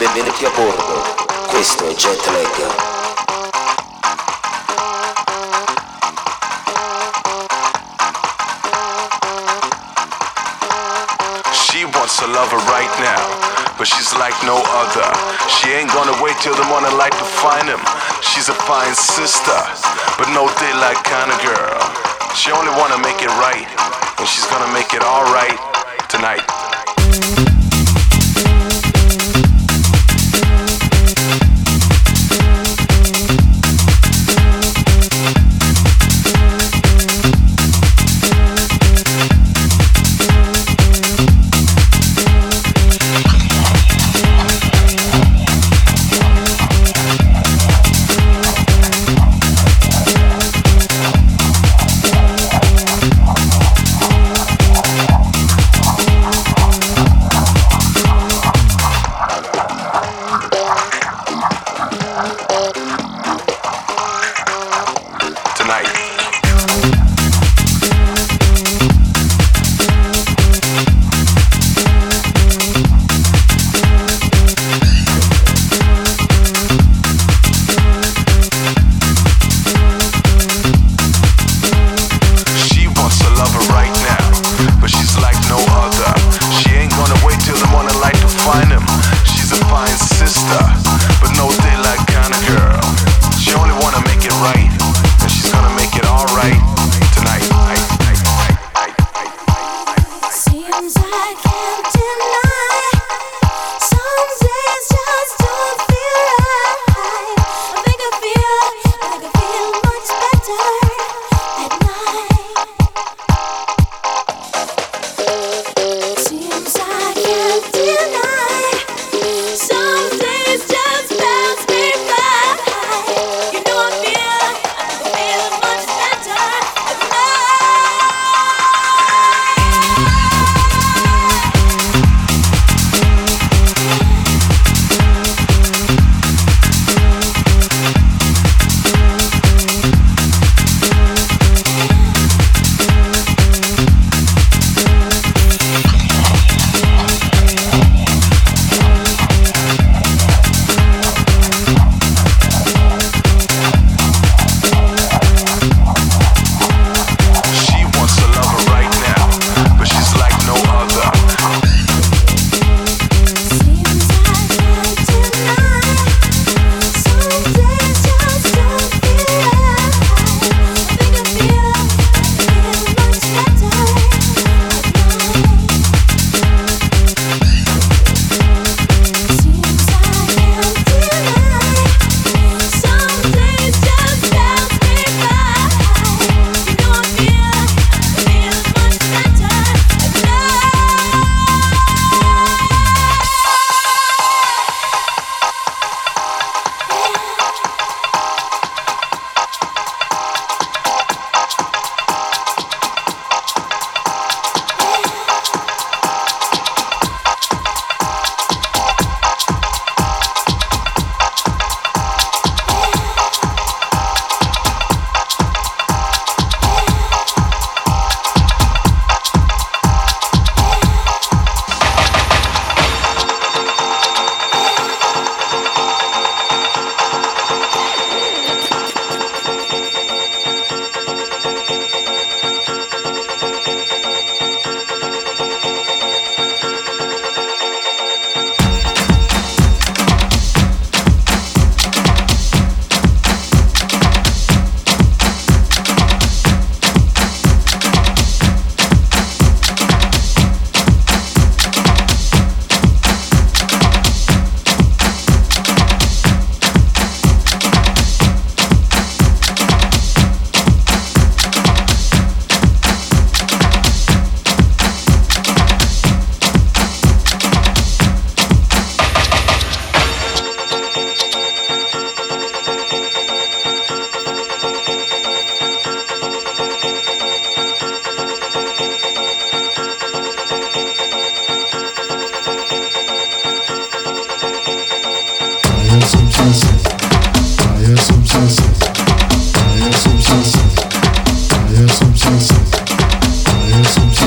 Benvenuti a bordo, questo è Jetlag. She wants a lover right now, but she's like no other. She ain't gonna wait till the morning light to find him. She's a fine sister, but no daylight kind of girl. She only wanna make it right, and she's gonna make it alright tonight.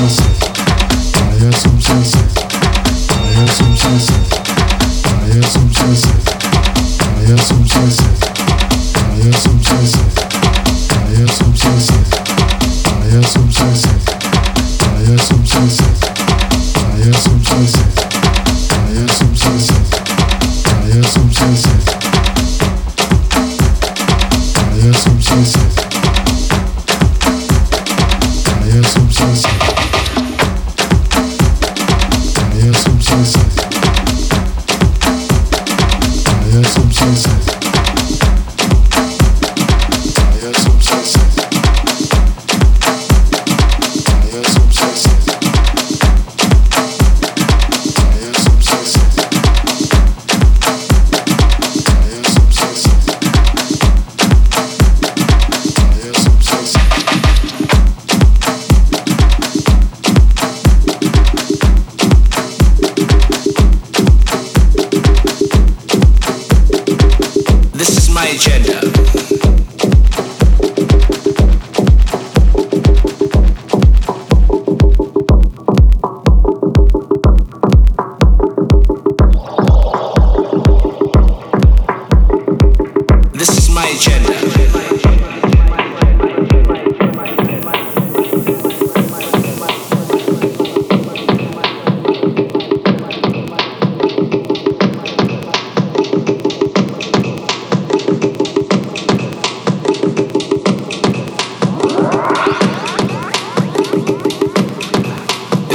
some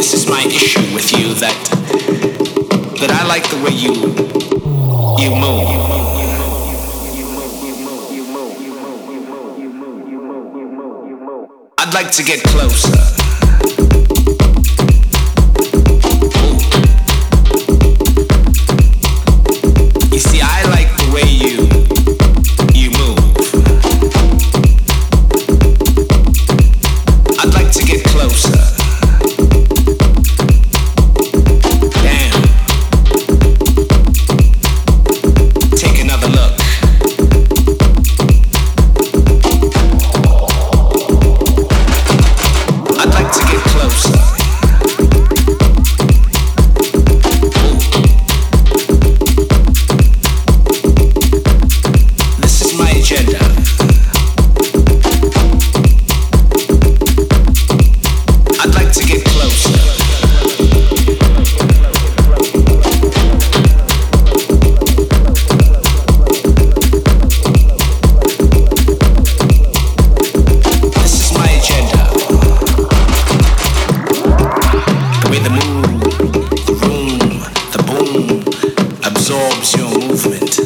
This is my issue with you that I like the way you move. I'd like to get closer. You see, I like the way you move. I'd like to get closer. Damn. Take another look. I'd like to get closer. This is my agenda. I'd like to get closer. This is my agenda. The way the mood, the room, the boom absorbs your movement.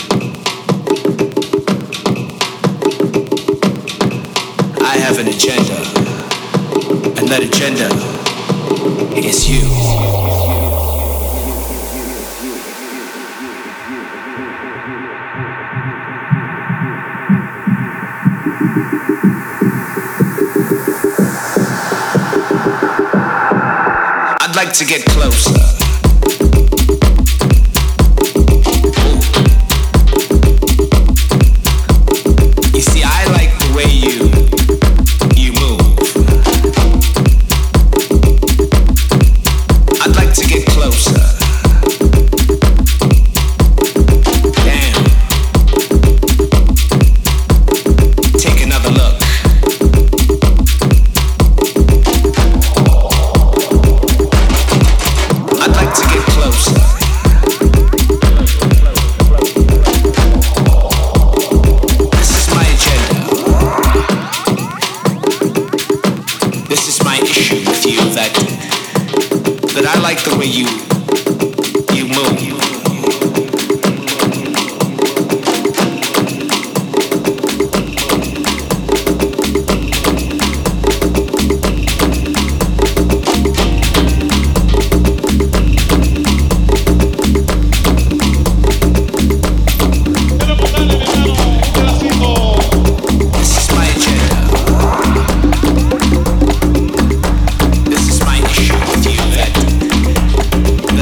I have an agenda, and that agenda is you. I'd like to get closer. You see, I like the way you move. I'd like to get closer. Damn. Take another look. I'd like to get closer. This is my agenda. This is my issue with you that I like the way you move. This is my agenda. This is my issue with you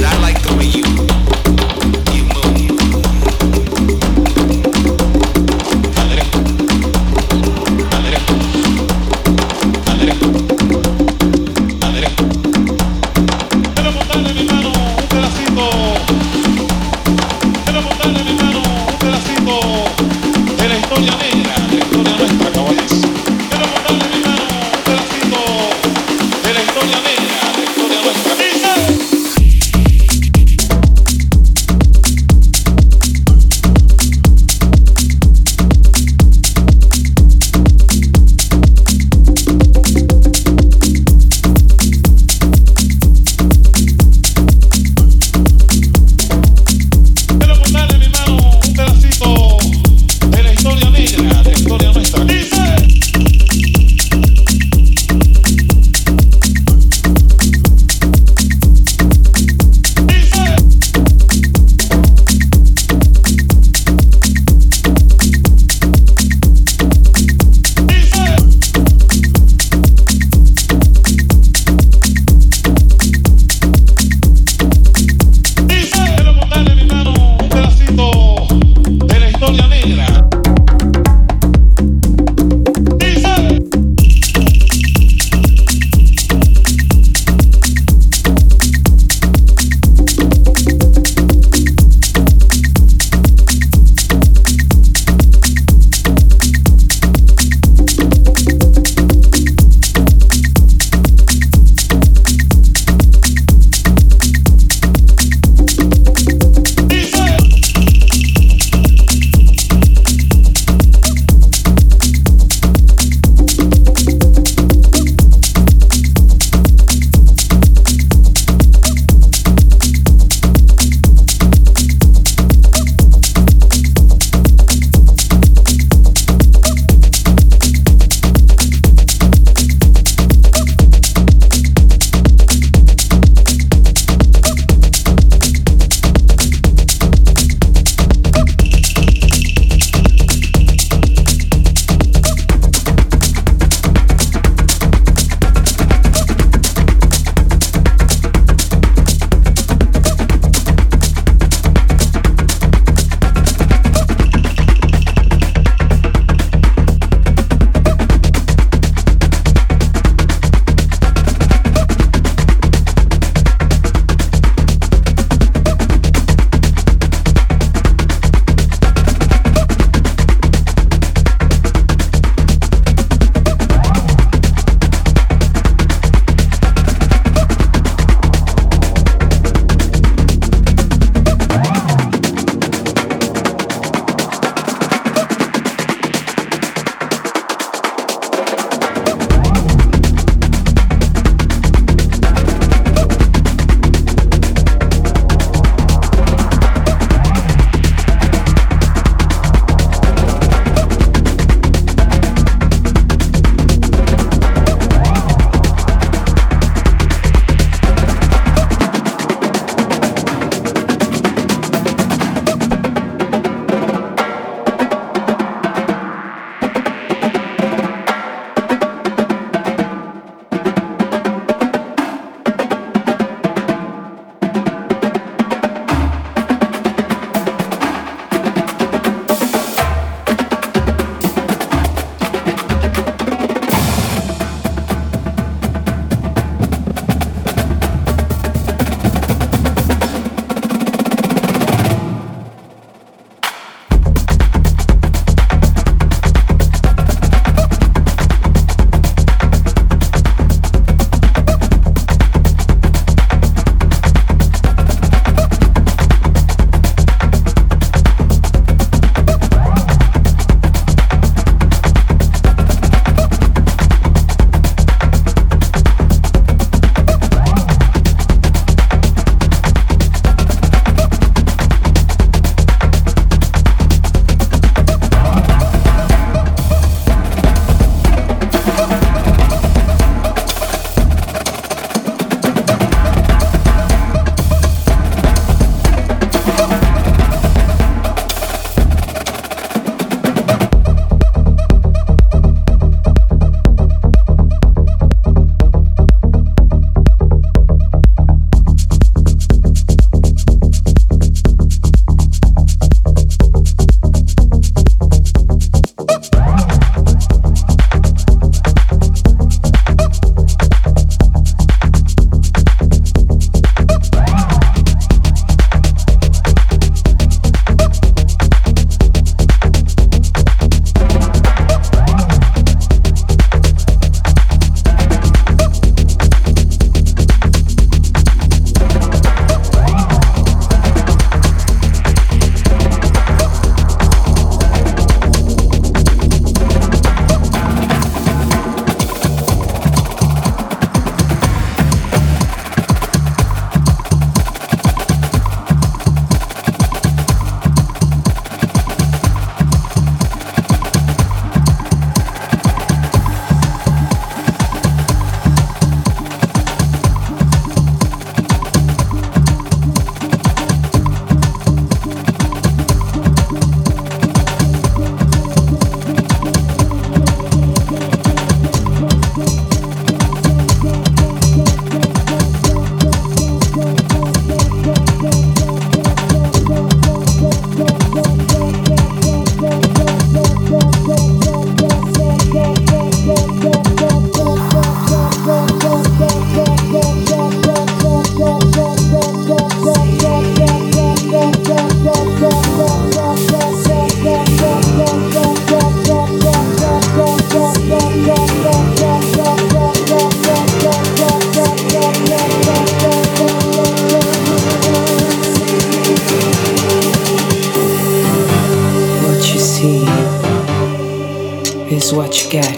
is what you get.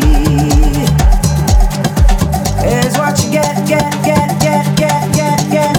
Get.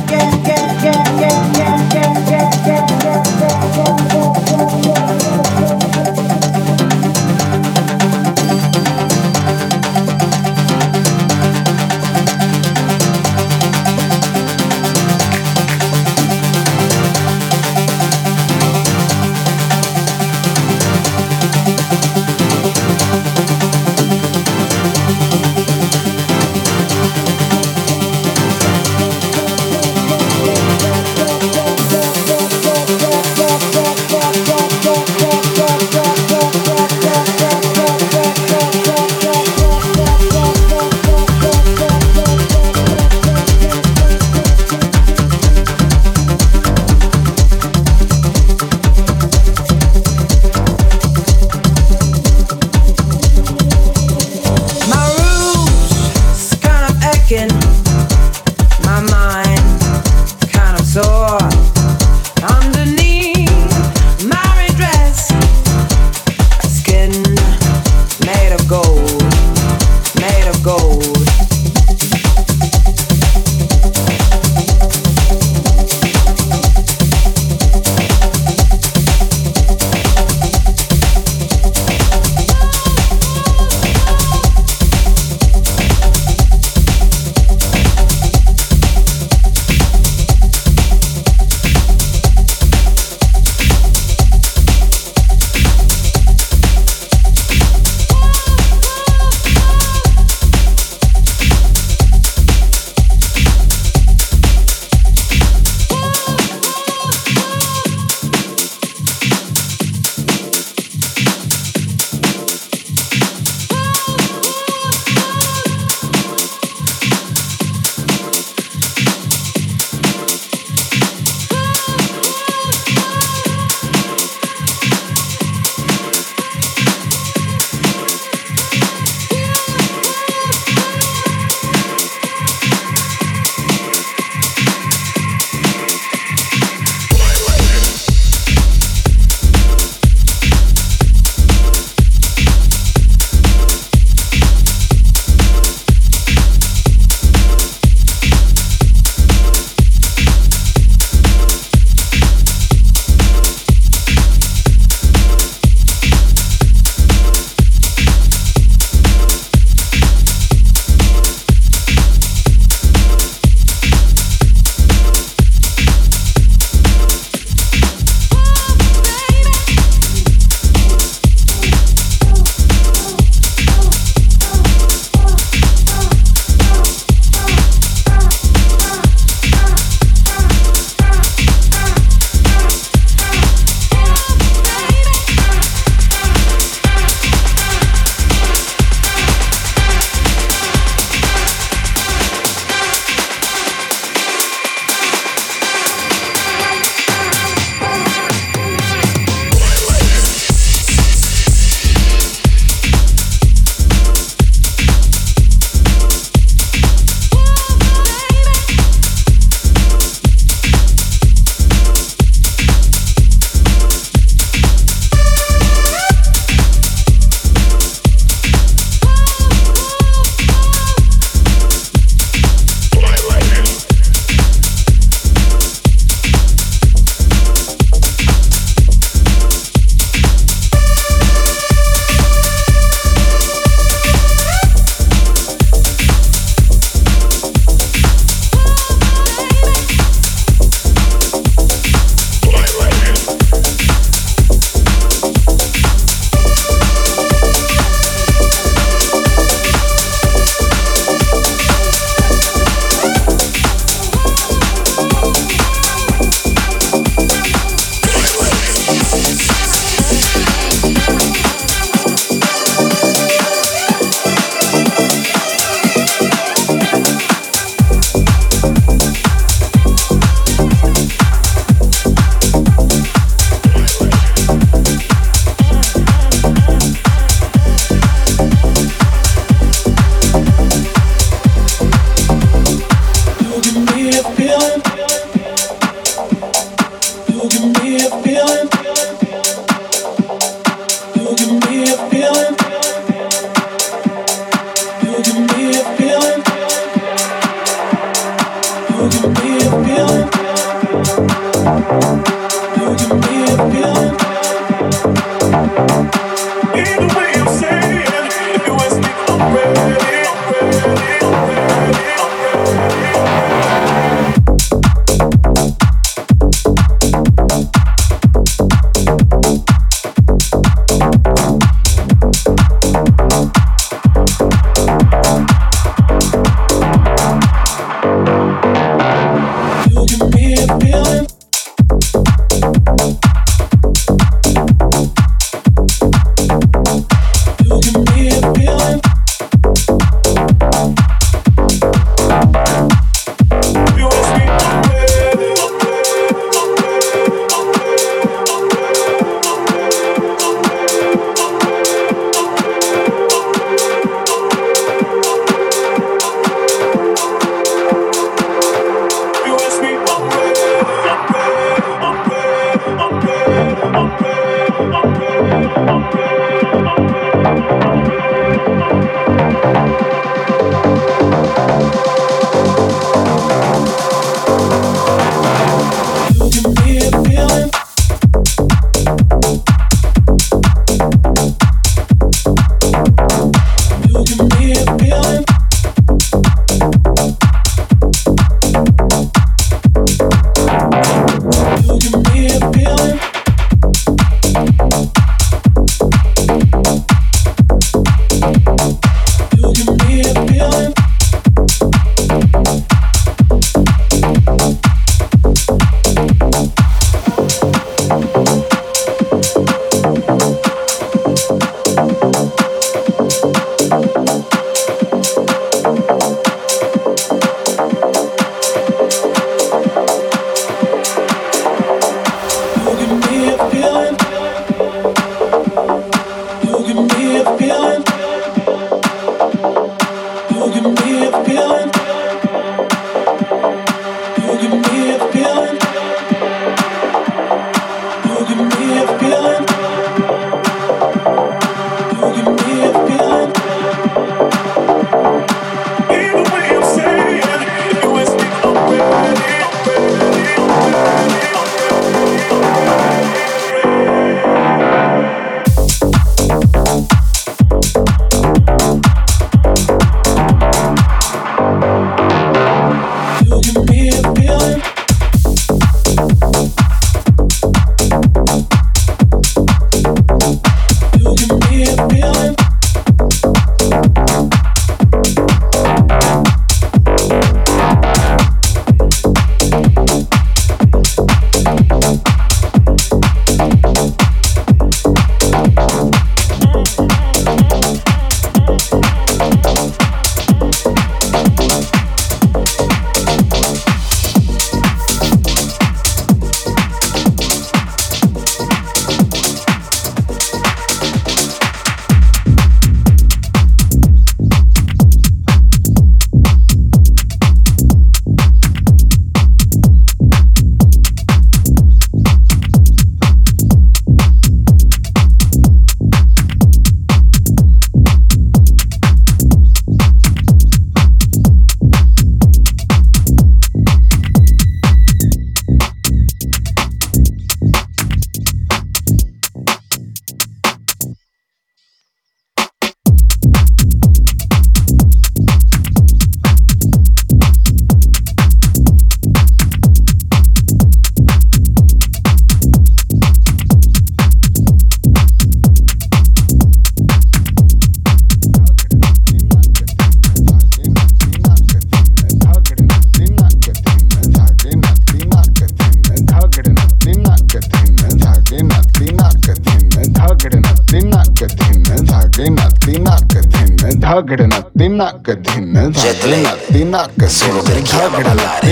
Solo per chi ama ballare.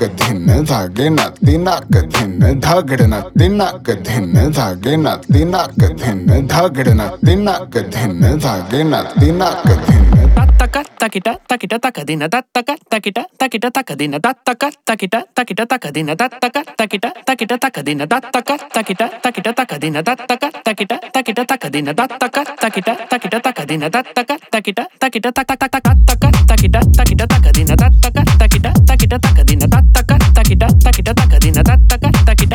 Tattaka takita takita takadina tattaka takita takita takadina tattaka takita takita takadina tattaka takita takita takadina tattaka takita takita takadina tattaka takita takita takadina tattaka takita takita takadina tattaka takita takita takataka takita takita takadina tattaka takita takita takadina tattaka takita takita takadina tattaka takita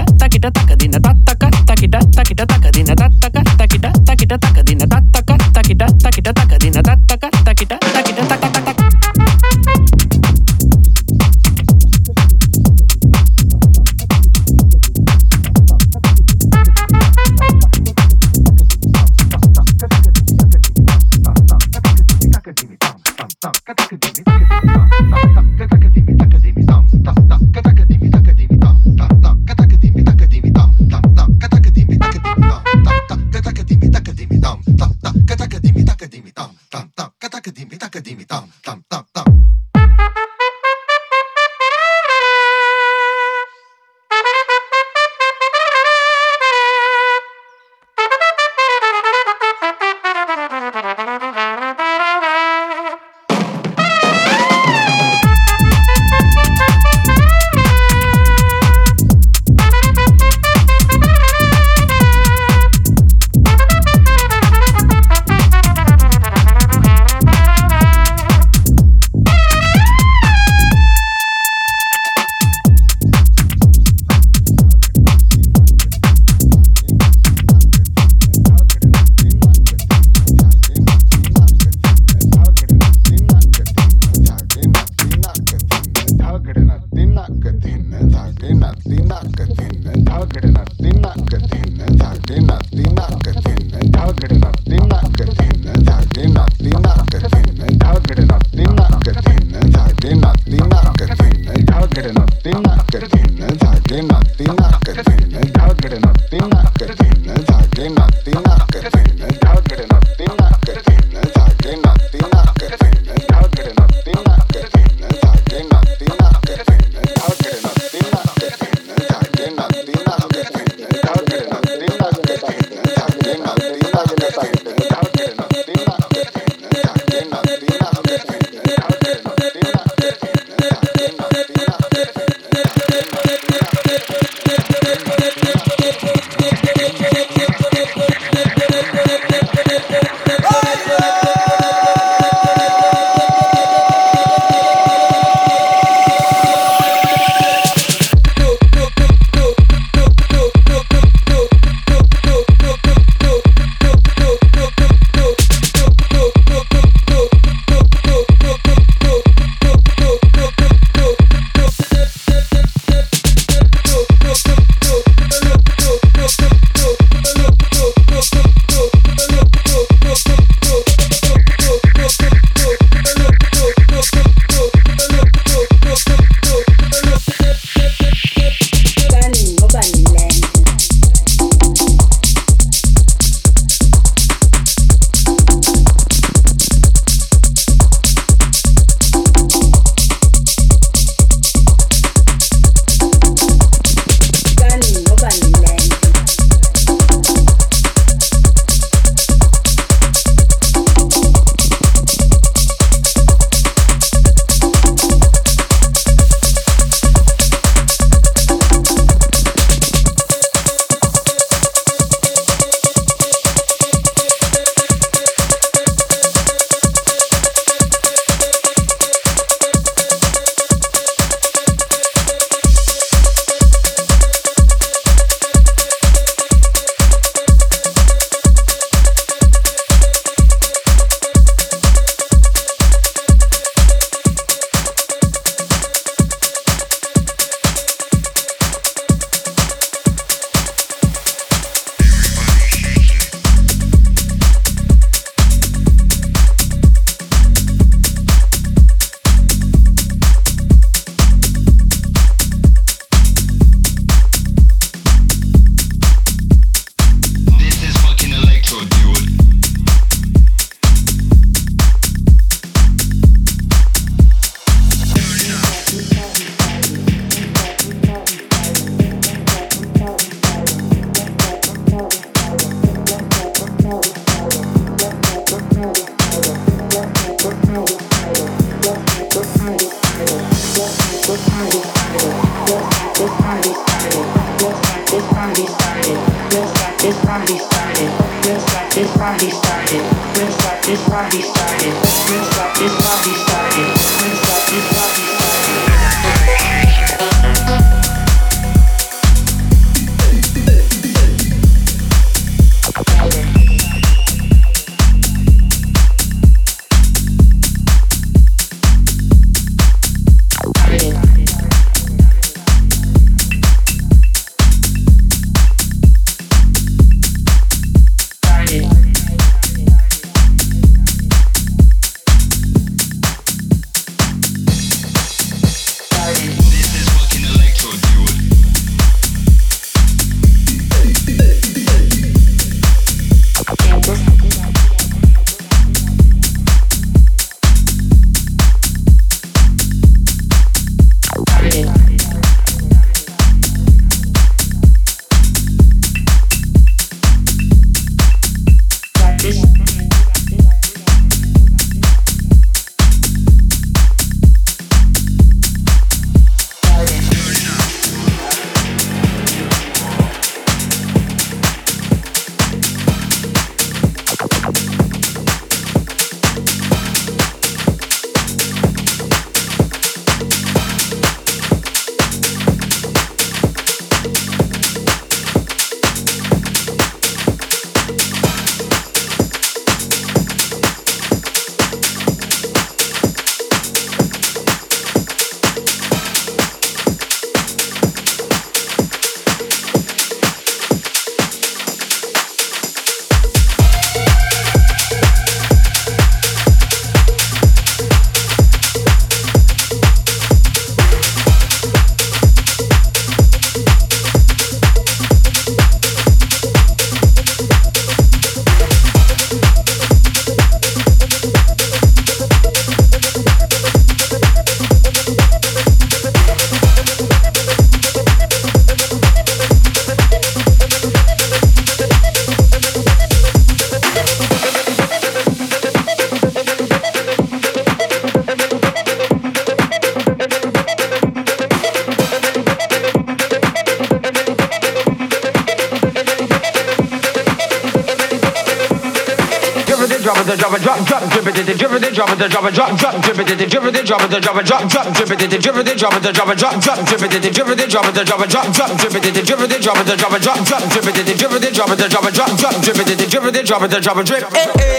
it, the drop it, drop, drop, drip it, the drip it, drop it, the drop it, drop, drop, drip it, the drip it, drop it, the drop it, drop, drop, drip it, the drip it, drop it, the drop it, drop, drop, drip it, the drip it, drop it, the drop it, drop, drop, drip it, the drip it, drop it, the drop it, drop, drop, drip it, the drip it, drop it, the drop it, drop, drop, drip it, the drip it, drop it, the drop it, drip.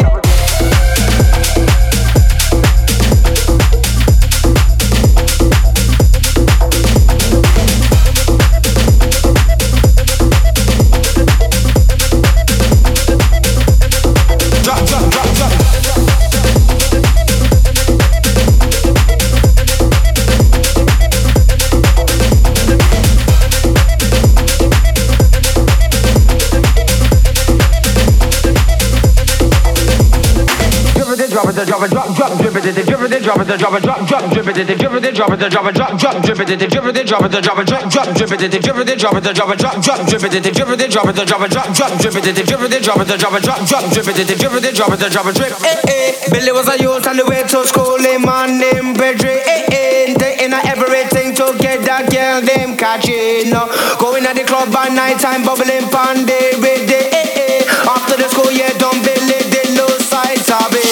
Drop it, drop it, drop, drop, drip it, drip it, drop it, drop it, drop, drop, drip it, drip it, drop it, drop it, drop, drop, drip it, drip it, drop it, drop it, drop, drop, drip it, drip it, drop it, drop it, drop, drop, drip it, drip it, drop it, drop it, drop, drop, drip it, drip it, drop it, drop it, drop, drop, drip it, drip it, drop it, drop it, drip. Billy was a youth on the way to school, him man named Pedri. Taking everything together, girl them catching. Going at the club at night time, bubbling pan day with day. After the school, yeah, don't believe the low sides of it.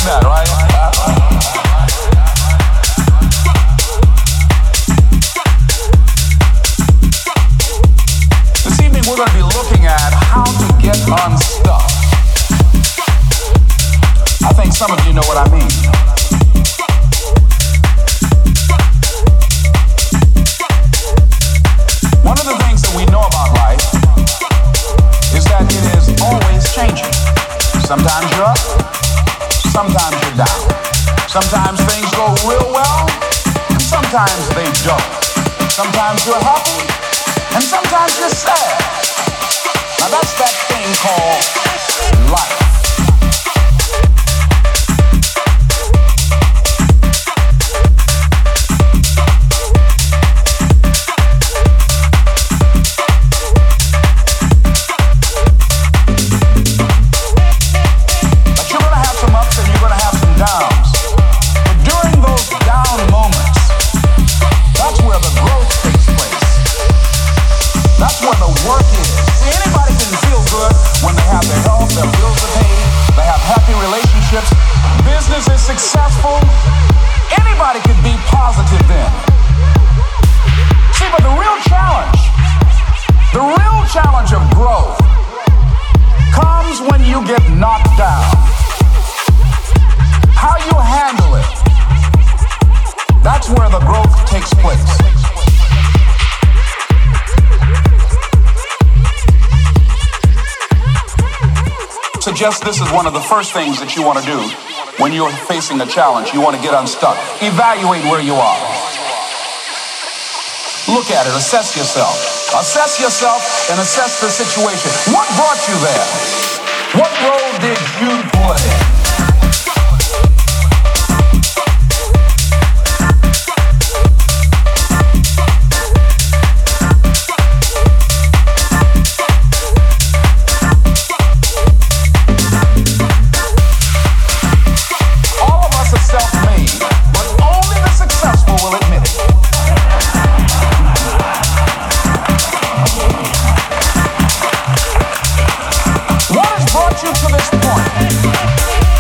doing that, right? This evening we're going to be looking at how to get unstuck. I think some of you know what I mean. One of the things that we know about life is that it is always changing. Sometimes you're up, sometimes you're down. Sometimes things go real well, and sometimes they don't. Sometimes you're happy, and sometimes you're sad. Now that's that thing called life. Business is successful, anybody can be positive then. See, but the real challenge of growth comes when you get knocked down. How you handle it, that's where the growth takes place. Suggest this is one of the first things that you want to do when you're facing a challenge. You want to get unstuck. Evaluate where you are. Look at it. Assess yourself. Assess yourself and assess the situation. What brought you there? What role did you play? What has brought you to this point?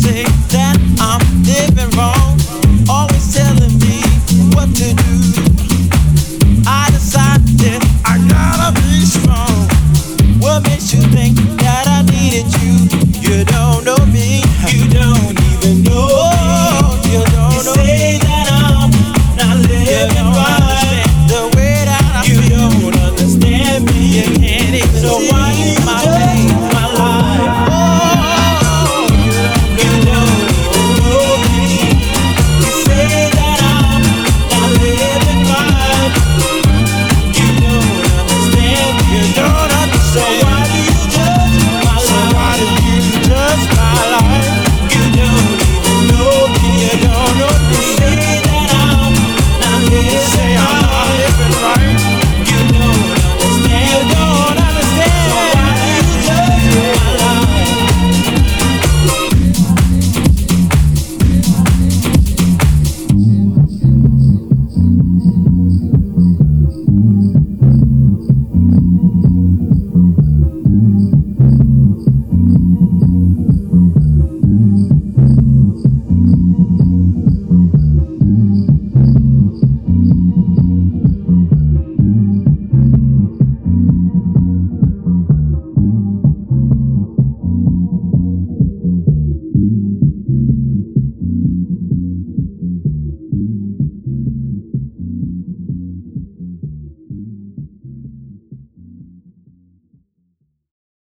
say